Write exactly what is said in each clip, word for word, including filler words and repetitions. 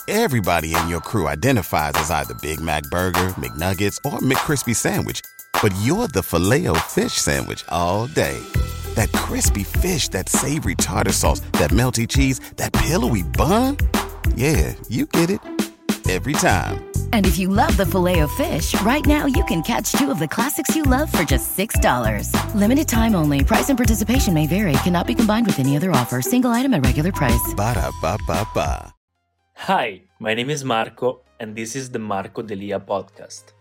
Everybody in your crew identifies as either Big Mac Burger, McNuggets, or McCrispy Sandwich. But you're the Filet-O-Fish Sandwich all day. That crispy fish, that savory tartar sauce, that melty cheese, that pillowy bun. Yeah, you get it. Every time. And if you love the Filet-O-Fish, right now you can catch two of the classics you love for just six dollars. Limited time only. Price and participation may vary. Cannot be combined with any other offer. Single item at regular price. Ba-da-ba-ba-ba. Hi, my name is Marco, and this is the Marco Delia podcast.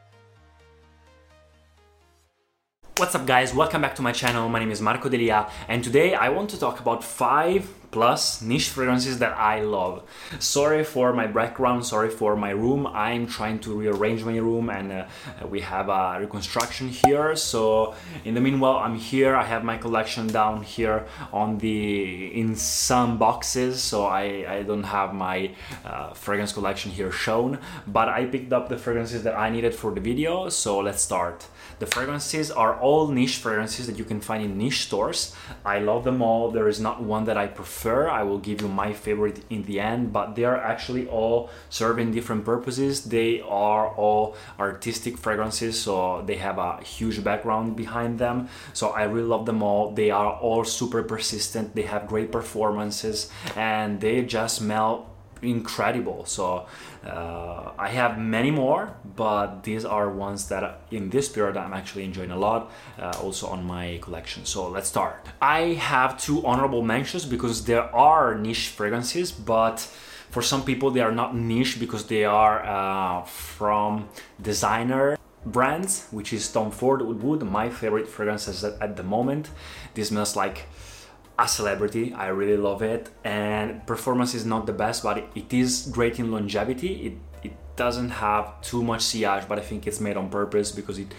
What's up, guys? Welcome back to my channel. My name is Marco Delia, and today I want to talk about five plus niche fragrances that I love. Sorry for my background, sorry for my room. I'm trying to rearrange my room, and uh, we have a reconstruction here. So in the meanwhile, I'm here. I have my collection down here on the in some boxes, so I, I don't have my uh, fragrance collection here shown, but I picked up the fragrances that I needed for the video. So let's start. The fragrances are all niche fragrances that you can find in niche stores. I love them all. There is not one that I prefer. I will give you my favorite in the end, but they are actually all serving different purposes. They are all artistic fragrances, so they have a huge background behind them. So I really love them all. They are all super persistent. They have great performances, and they just smell incredible. So uh, I have many more, but these are ones that in this period I'm actually enjoying a lot, uh, also on my collection. So let's start. I have two honorable mentions because there are niche fragrances, but for some people they are not niche because they are uh, from designer brands, which is Tom Ford Wood, my favorite fragrances at, at the moment. This smells like a celebrity. I really love it, and performance is not the best, but it, it is great in longevity. It it doesn't have too much sillage, but I think it's made on purpose because it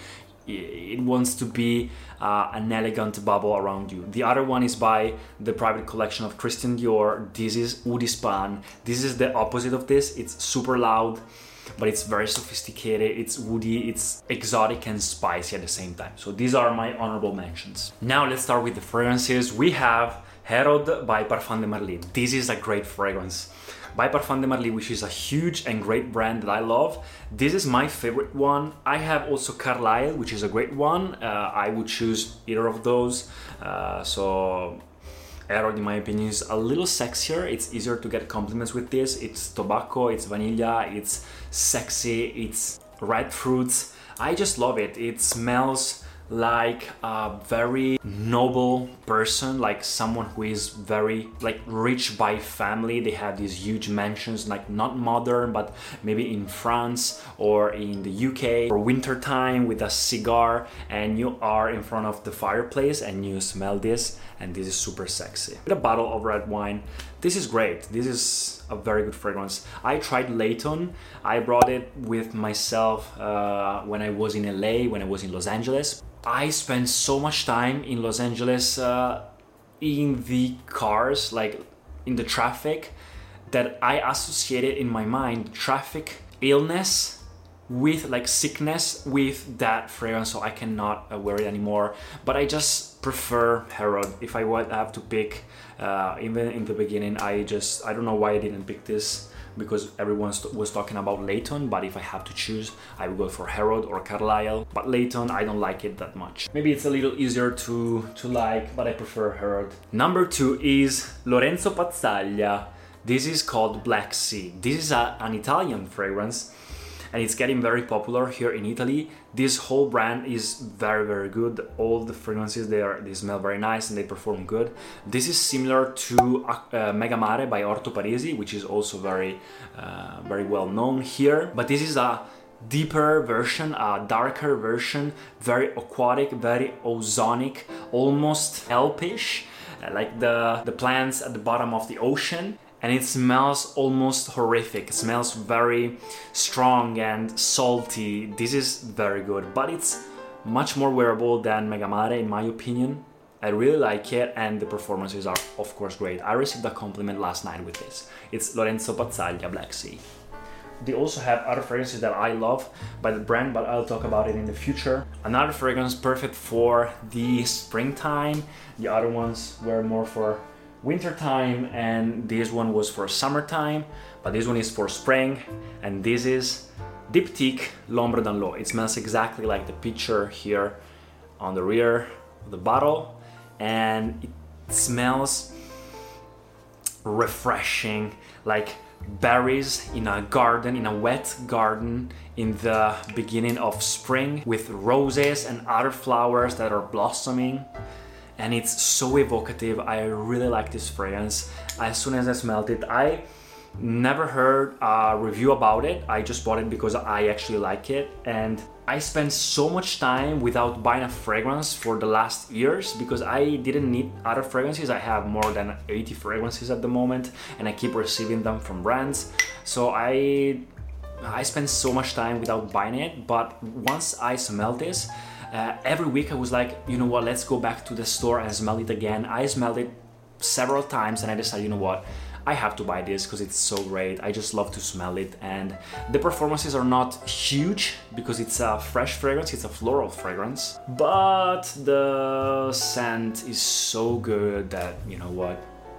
it wants to be uh, an elegant bubble around you. The other one is by the private collection of Christian Dior. This is Oud Span. This is the opposite of this. It's super loud, but it's very sophisticated, it's woody, it's exotic and spicy at the same time. So these are my honorable mentions. Now let's start with the fragrances. We have Herod by Parfum de Marly. This is a great fragrance. By Parfum de Marly, which is a huge and great brand that I love. This is my favorite one. I have also Carlisle, which is a great one. Uh, I would choose either of those. Uh, so Herod, in my opinion, is a little sexier. It's easier to get compliments with this. It's tobacco, it's vanilla, it's sexy, it's red fruits. I just love it. It smells like a very noble person, like someone who is very like rich by family. They have these huge mansions, like not modern, but maybe in France or in the U K for winter time with a cigar, and you are in front of the fireplace and you smell this, and this is super sexy. With a bottle of red wine, this is great. This is a very good fragrance. I tried Layton. I brought it with myself uh, when I was in L A, when I was in Los Angeles. I spent so much time in Los Angeles uh, in the cars, like in the traffic, that I associated in my mind traffic, illness, with like sickness with that fragrance, so I cannot uh, wear it anymore. But I just prefer Herod. If I would have to pick, uh, even in the beginning, I just I don't know why I didn't pick this, because everyone was talking about Layton, but if I have to choose, I would go for Herod or Carlisle. But Layton, I don't like it that much. Maybe it's a little easier to, to like, but I prefer Herod. Number two is Lorenzo Pazzaglia. This is called Black Sea. This is a, an Italian fragrance, and it's getting very popular here in Italy. This whole brand is very, very good. All the fragrances, they are they smell very nice and they perform good. This is similar to uh, Megamare by Orto Parisi, which is also very, uh, very well known here. But this is a deeper version, a darker version, very aquatic, very ozonic, almost kelpish, like the, the plants at the bottom of the ocean. And it smells almost horrific. It smells very strong and salty. This is very good, but it's much more wearable than Megamare in my opinion. I really like it, and the performances are of course great. I received a compliment last night with this. It's Lorenzo Pazzaglia Black Sea. They also have other fragrances that I love by the brand, but I'll talk about it in the future. Another fragrance perfect for the springtime. The other ones were more for winter time, and this one was for summertime, but this one is for spring, and this is Diptyque L'Ombre dans l'eau. It smells exactly like the picture here on the rear of the bottle, and it smells refreshing, like berries in a garden, in a wet garden in the beginning of spring, with roses and other flowers that are blossoming. And it's so evocative. I really like this fragrance. As soon as I smelled it, I never heard a review about it. I just bought it because I actually like it, and I spent so much time without buying a fragrance for the last years because I didn't need other fragrances. I have more than eighty fragrances at the moment, and I keep receiving them from brands. So I I spent so much time without buying it, but once I smelled this, uh, every week I was like, you know what, let's go back to the store and smell it again. I smelled it several times and I decided, you know what, I have to buy this because it's so great. I just love to smell it, and the performances are not huge because it's a fresh fragrance, it's a floral fragrance, but the scent is so good that, you know what,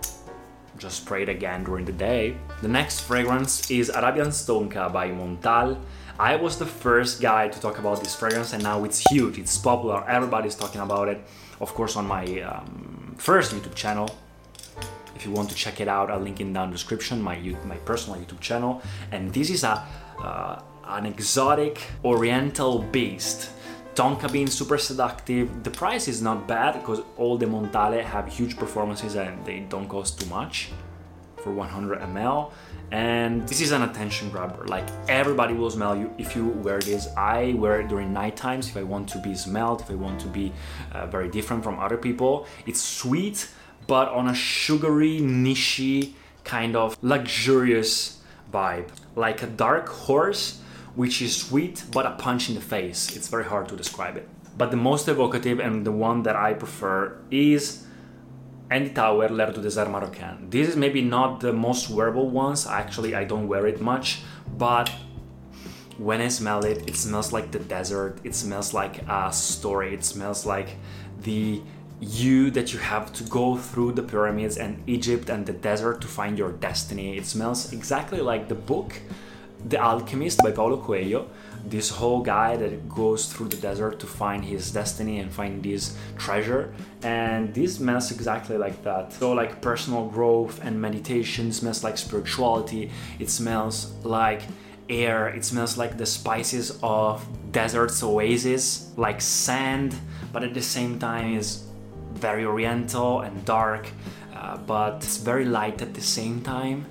just spray it again during the day. The next fragrance is Arabian Stonka by Montal. I was the first guy to talk about this fragrance, and now it's huge, it's popular, everybody's talking about it. Of course, on my um, first YouTube channel. If you want to check it out, I'll link it down in the description, my my personal YouTube channel. And this is a uh, an exotic oriental beast. Tonka bean, super seductive. The price is not bad because all the Montale have huge performances and they don't cost too much for one hundred milliliters. And this is an attention grabber. Like, everybody will smell you if you wear this. I wear it during night times if I want to be smelled, if I want to be uh, very different from other people. It's sweet, but on a sugary, nichey, kind of luxurious vibe. Like a dark horse, which is sweet, but a punch in the face. It's very hard to describe it. But the most evocative and the one that I prefer is Andy Tauer L'Air du Désert Marocain. This is maybe not the most wearable ones. Actually, I don't wear it much, but when I smell it, it smells like the desert. It smells like a story. It smells like the you that you have to go through the pyramids and Egypt and the desert to find your destiny. It smells exactly like the book The Alchemist by Paulo Coelho, this whole guy that goes through the desert to find his destiny and find this treasure, and this smells exactly like that. So like personal growth and meditation, smells like spirituality, it smells like air, it smells like the spices of desert's oasis, like sand, but at the same time is very oriental and dark, uh, but it's very light at the same time.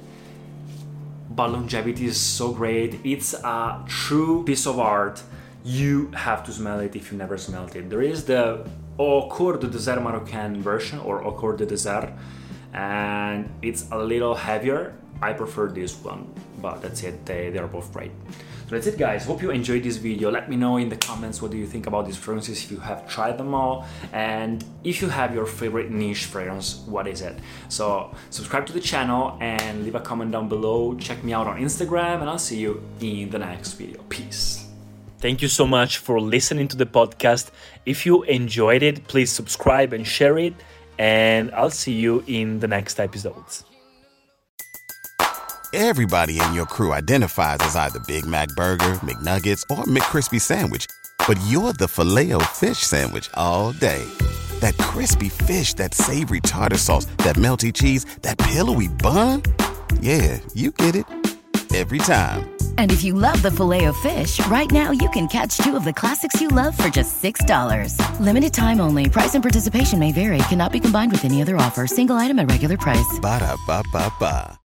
But longevity is so great. It's a true piece of art. You have to smell it if you never smelled it. There is the Au Cours du Désert Marocain version, or Au Cours du Désert, and it's a little heavier. I prefer this one, but that's it, they, they're both great. So that's it, guys. Hope you enjoyed this video. Let me know in the comments what do you think about these fragrances, if you have tried them all, and if you have your favorite niche fragrance, what is it? So subscribe to the channel and leave a comment down below. Check me out on Instagram, and I'll see you in the next video. Peace. Thank you so much for listening to the podcast. If you enjoyed it, please subscribe and share it, and I'll see you in the next episodes. Everybody in your crew identifies as either Big Mac Burger, McNuggets, or McCrispy Sandwich. But you're the Filet-O-Fish Sandwich all day. That crispy fish, that savory tartar sauce, that melty cheese, that pillowy bun. Yeah, you get it. Every time. And if you love the Filet-O-Fish, right now you can catch two of the classics you love for just six dollars. Limited time only. Price and participation may vary. Cannot be combined with any other offer. Single item at regular price. Ba-da-ba-ba-ba.